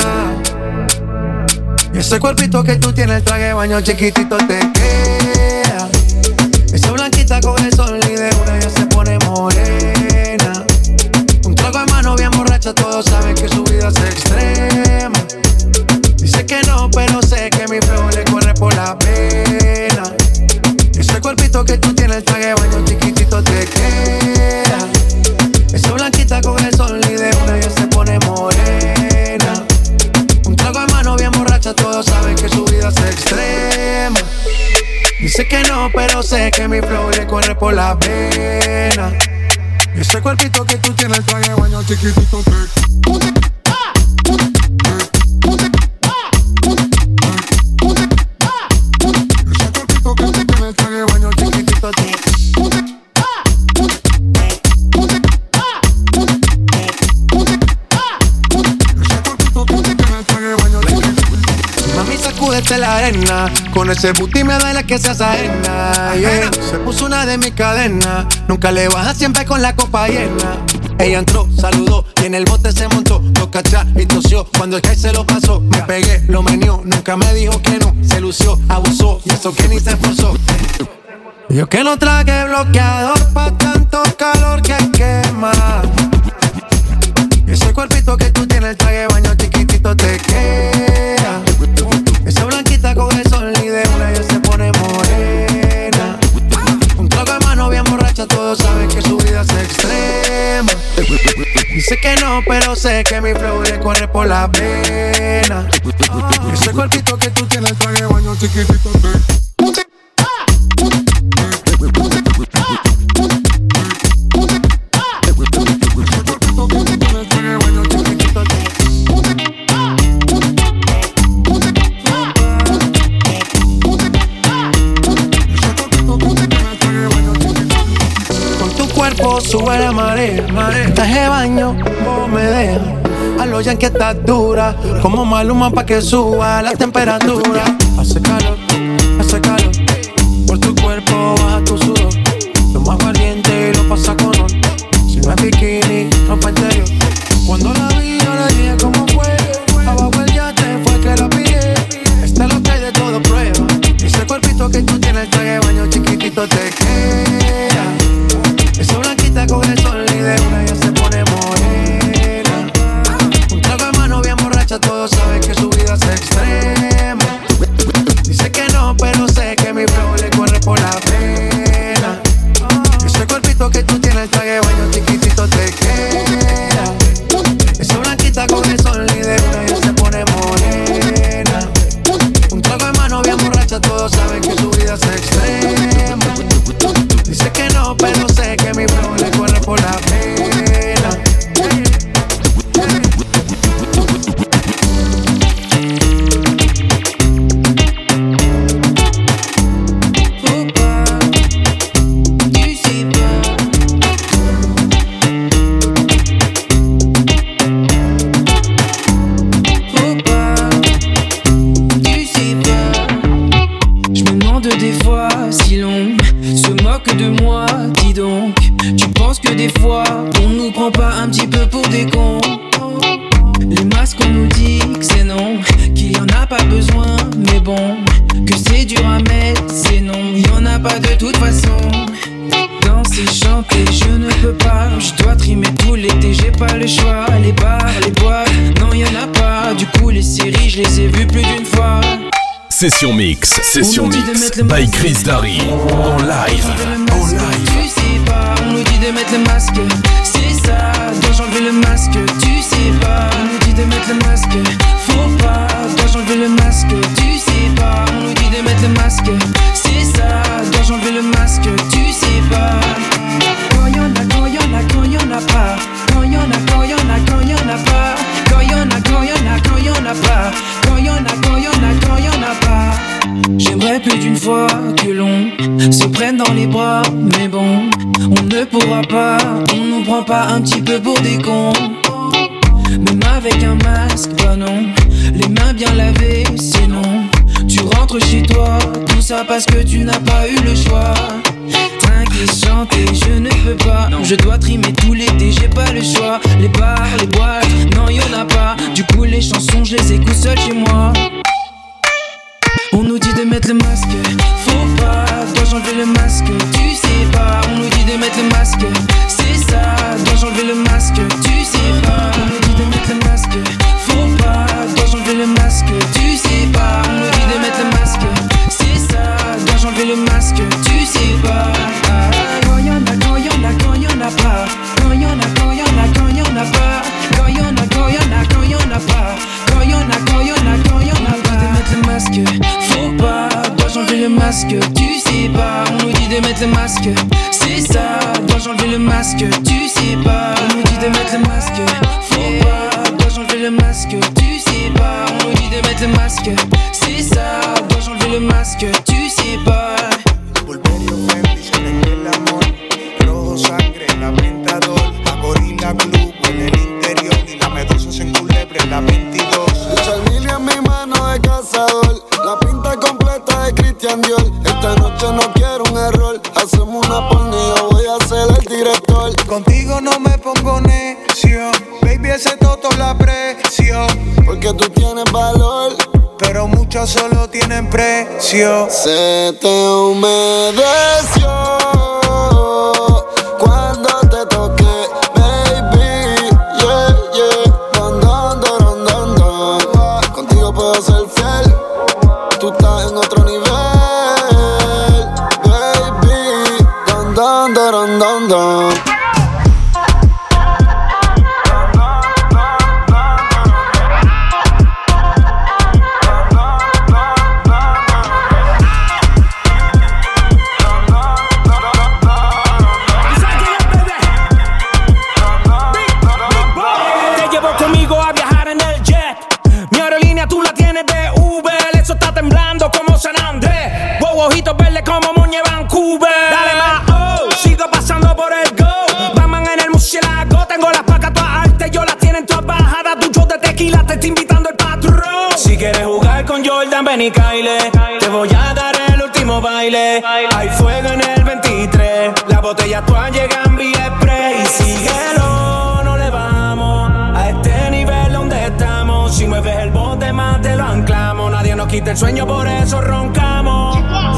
Y ese cuerpito que tú tienes, el traje de baño chiquitito te queda. Esa blanquita coge el sol y de una ya se pone morena. Un trago de mano bien borracha, todos saben que su vida es extrema. Dice que no, pero sé que mi flow le corre por la pena. Ese cuerpito que tú tienes, el traje de baño chiquitito te queda. Esa blanquita coge el sol y de una ya se pone morena. Un trago de mano bien borracha, todos saben que su vida es extrema. Dice que no, pero sé que mi flow le corre por la pena. Ese cuerpito que tú tienes, el traje de baño chiquitito te queda. Sacúdete la arena, con ese booty me duele que seas ajena, yeah. Se puso una de mis cadenas, nunca le baja siempre con la copa llena. Ella entró, saludó y en el bote se montó, lo cachá y tosió, cuando el high se lo pasó. Me pegué, lo meneó, nunca me dijo que no, se lució, abusó y eso que ni se esforzó. Yo que no traje bloqueador pa' tanto calor que quema. Y ese cuerpito que tú tienes, el traje de baño chiquitito te queda. Esa blanquita coge el sol y de una ya se pone morena. Un trago de mano bien borracha, todos saben que su vida es extrema. Dice que no, pero sé que mi flow le corre por la pena. Ese cuerpito que tú tienes, el traje de baño chiquitito te queda. Sube la marea, marea. Traje de baño, vos me dejas. A lo ya que estás dura, como Maluma pa' que suba la temperatura. Hace calor, hace calor. Por tu cuerpo baja tu sudor. Lo más valiente y lo pasa con honor. Si no es bikini, ropa interior. Cuando la vi, yo la dije como fue. Abajo el yate fue que la pillé. Este es lo que hay de todo prueba. Ese cuerpito que tú tienes, el traje de baño chiquitito te queda. Esa blanquita coge el sol y de una ya se pone morena. Un trago de mano bien borracha, todos saben que su vida es extrema. Dice que no, pero sé que mi flow le corre por la pena. Ese cuerpito que tú tienes, el traje de baño chiquitito te queda. Esa blanquita coge el sol y de una ya se pone morena. Un trago de mano bien borracha, todos saben que su vida es extrema. Dice que no, pero sé que mi flow le corre por la pena. Je me demande des fois si l'on se moque de moi, dis donc. Tu penses que des fois on nous prend pas un petit peu pour des cons? Les masques on nous dit que c'est non, qu'il y en a pas besoin, mais bon, que c'est dur à mettre, c'est non, il y en a pas de toute façon. Danser, chanter, je ne peux pas, je dois trimer tout l'été, j'ai pas le choix. Les bars, les boîtes, non y en a pas, du coup les séries je les ai vues plus d'une fois. Session Mix, Session Mix, by Chris Darry, en live, en live. Tu sais pas, on nous dit de mettre le masque, c'est ça, dois-je enlever le masque? Tu sais pas, on nous dit de mettre le masque, faut pas, dois-je enlever le masque? Tu sais pas, on nous dit de mettre le masque, c'est ça, dois-je enlever le masque? Tu sais pas. Quand y'en a, quand y'en a, quand y'en a pas, quand y'en a, quand y'en a, quand y'en a pas, quand y'en a, quand y'en a, quand y'en a pas, quand y'en a, quand y'en a, quand y'en a pas. J'aimerais plus d'une fois que l'on se prenne dans les bras, mais bon, on ne pourra pas, on nous prend pas un petit peu pour des cons. Mais ma avec un masque, bah non. Les mains bien lavées, sinon tu rentres chez toi. Tout ça parce que tu n'as pas eu le choix. Trinquer, chanter, je ne peux pas. Non, je dois trimer tout l'été, j'ai pas le choix. Les bars, les boîtes, non y'en a pas. Du coup les chansons, je les écoute seul chez moi. On nous dit de mettre le masque, faut pas, dois-je enlever le masque, tu sais pas. On nous dit de mettre le masque, c'est ça, dois-je enlever le masque, tu sais pas. On nous dit de mettre le masque, faut pas, dois-je enlever le masque, tu sais pas. On nous dit de mettre le masque, c'est ça, dois-je enlever le masque, tu sais pas. Quand y'en a, quand y'en a, quand y'en a pas. Quand y'en a, quand y'en a, quand y'en a pas. Quand y'en a, quand y'en a, quand y'en a pas. Quand y'en a, quand y'en a, quand y'en a pas. On nous dit de mettre le masque, faut pas, dois-je enlever le masque, tu sais pas. On nous dit de mettre le masque, c'est ça, dois-je enlever le masque, tu sais pas. On nous dit de mettre le masque, faut pas, dois-je enlever le masque, tu sais pas. On nous dit de mettre le masque, c'est ça, dois-je enlever le masque, tu sais pas. Pulverio Fendi, se le el amor. Rojo sangre, la Pentadol. La Gorilla Glue en el interior. Y la medusa se enculebre en la veintidós. El charmilio en mi mano de cazador. La pinta completa de Christian Dior. Esta noche no quiero un error. Hacemos una porno y yo voy a ser el director. Contigo no me pongo necio. Baby, ese toto la aprecio. Porque tú tienes valor, pero muchos solo tienen precio. Se te humedeció cuando te toqué, baby. Yeah, yeah. Don, don, don, don, don. Contigo puedo ser fiel. Tú estás en otro nivel, baby. Don, don, don, don, don. Ojitos verdes como Muñe Vancouver. Dale más, oh, sigo pasando por el go. Batman en el murciélago. Tengo las placas todas altas, yo las tienen todas bajadas. Ducho de tequila, te está invitando el patrón. Si quieres jugar con Jordan, ven y caile. Te voy a dar el último baile. Hay fuego en el veintitrés. Las botellas todas llegan vía express. Y síguelo, no le vamos a este nivel donde estamos. Si mueves el bote más te lo anclamos. Nadie nos quita el sueño, por eso roncamos.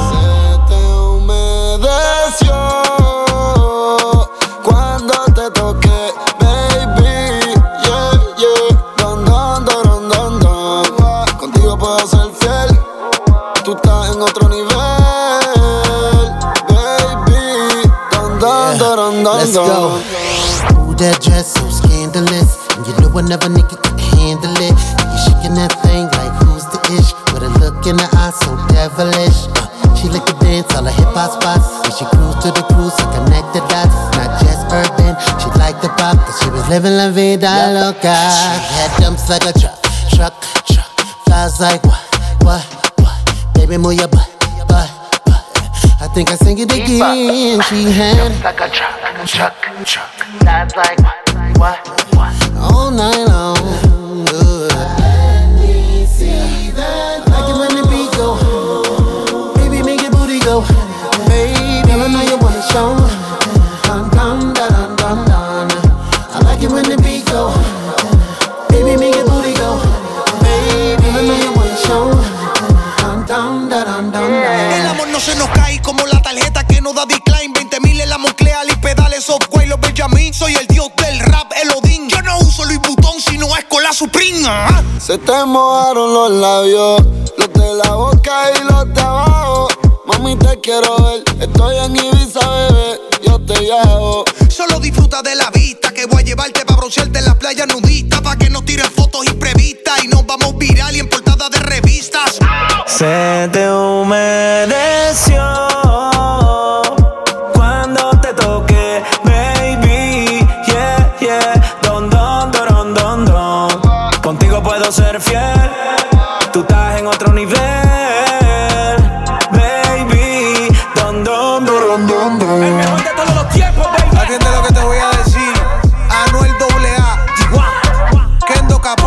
Cuando te toqué, baby, yeah, yeah. Don, don, don, don, don. Contigo puedo ser fiel. Tú estás en otro nivel, baby. Don, don, don, don, Let's don. go. Ooh, that dress so scandalous, and you know another nigga could handle it. And you shaking that thing like who's the ish, with a look in her eye so devilish. Uh, She like to dance all the hip-hop spots, and she cruise to the cruise to connect the dots. Not just urban, she like the pop, cause she was living la vida loca. She had dumps like a truck, truck, truck. Flies like what, what, what? Baby, move your butt, butt, butt. I think I sing it again. She had dumps like a truck, truck, truck. Flies like what, what, what? All night long. Good. Let me see that. Like it when the beat go. Go, baby, I know you wanna show. Dun, dun, dun, dun, dun. I like it when the beat go. Baby, make your booty go. Baby, I know you wanna show. Dun, dun, dun, dun, dun. El amor no se nos cae como la tarjeta que no da decline. veinte mil en la Moncler y pedales Software, los Benjamin. Soy el dios del rap, el Odín. Yo no uso Louis Vuitton, sino es con la Supreme. ¿Ah? Se te mojaron los labios, los de la boca y los de abajo. Mami, te quiero ver, estoy en Ibiza, bebé, yo te llevo. Solo disfruta de la vista, que voy a llevarte pa' broncearte en la playa nudista, pa' que no tiren fotos imprevistas y nos vamos viral y en portada de revistas. Se te humedeció cuando te toqué, baby, yeah, yeah. Don, don, don, don, don. Contigo puedo ser fiel, tú estás en otro nivel. El mejor de todos los tiempos, baby. Atiende lo que te voy a decir. Anuel doble A, Kendo Capo.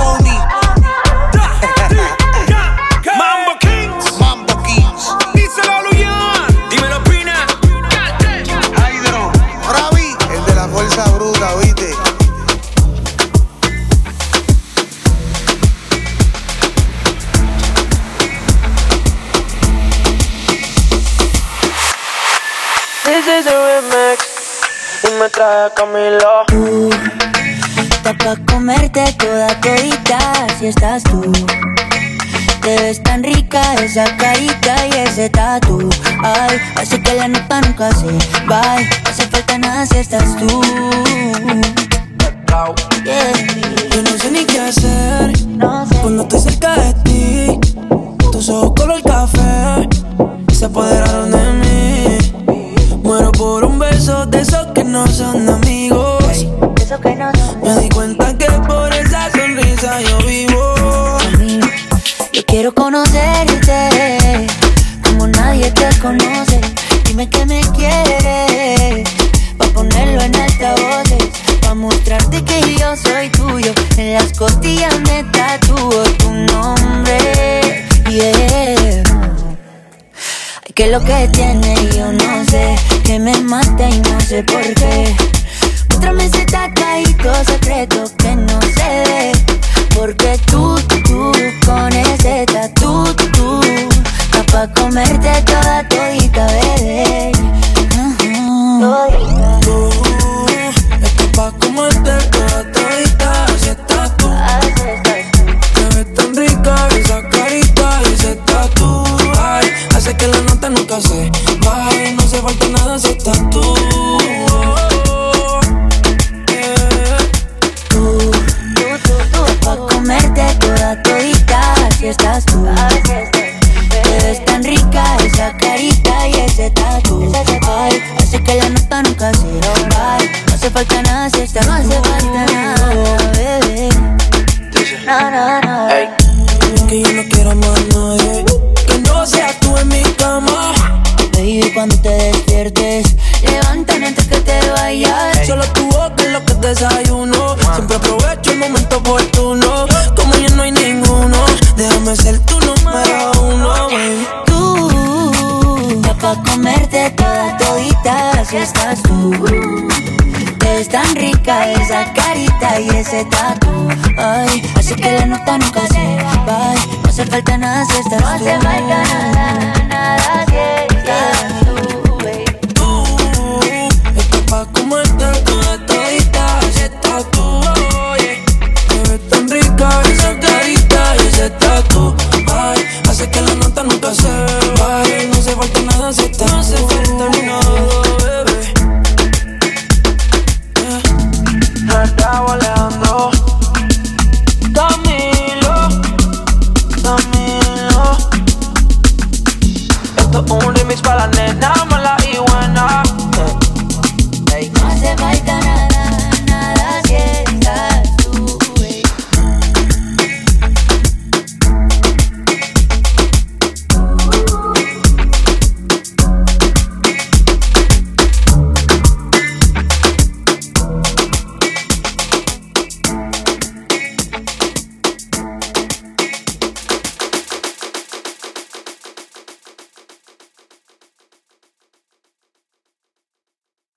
de Camilo. Tú, está pa' comerte toda todita si estás tú. Te ves tan rica esa carita y ese tatu. Ay, hace que la nota nunca se va. No hace falta nada si estás tú. Yeah. Yo no sé ni qué hacer no sé. Cuando estoy cerca de ti. Tus ojos color café se apoderaron de mí. Muero por un beso de esos que no son amigos. Hey, eso que no son. Me di cuenta que por esa sonrisa yo vivo. Yo quiero conocerte como nadie te conoce. Dime que me quieres pa' ponerlo en altavoces, pa' mostrarte que yo soy tuyo. En las costillas me tatúo tu nombre. Yeah. Ay, que lo que tiene yo no sé, que me mata y no sé por qué. Muéstrame ese tatuajito secreto que no se ve. Porque tú, tú, con ese tatu, tú, está pa' comerte toda todita, bebé. Uh-huh. Todita. Tú, está pa' comerte toda todita, así estás tú. Te ves tan rica esa carita y ese tatu. Ay, hace que la nota nunca se baje. No hace falta nada si estás tú. Comerte toda todita, si estás tú. Te ves tan rica esa carita y ese tatu. Ay, hace que la nota nunca se va. No hace falta nada si estás tú. No hace falta nada, bebé. No, no, no. Hey. Que yo no quiero más nadie que no seas tú en mi cama. Baby, cuando te despiertes, levántame antes que te vayas. Hey. Solo tu boca es lo que desayuno. Siempre aprovecho el momento oportuno. Como ya no hay ninguno, déjame ser tu número uno, baby. Tú, está pa' comerte toda todita si estás tú. Te ves tan rica esa carita y ese tatu. Ay, así que la nota nunca se va. No hace falta nada si estás tú. No hace falta nada, nada.